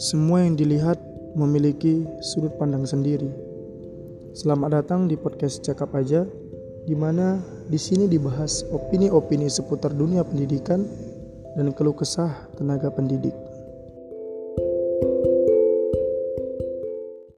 Semua yang dilihat memiliki sudut pandang sendiri. Selamat datang di podcast Cakap Aja, di mana di sini dibahas opini-opini seputar dunia pendidikan dan keluh kesah tenaga pendidik.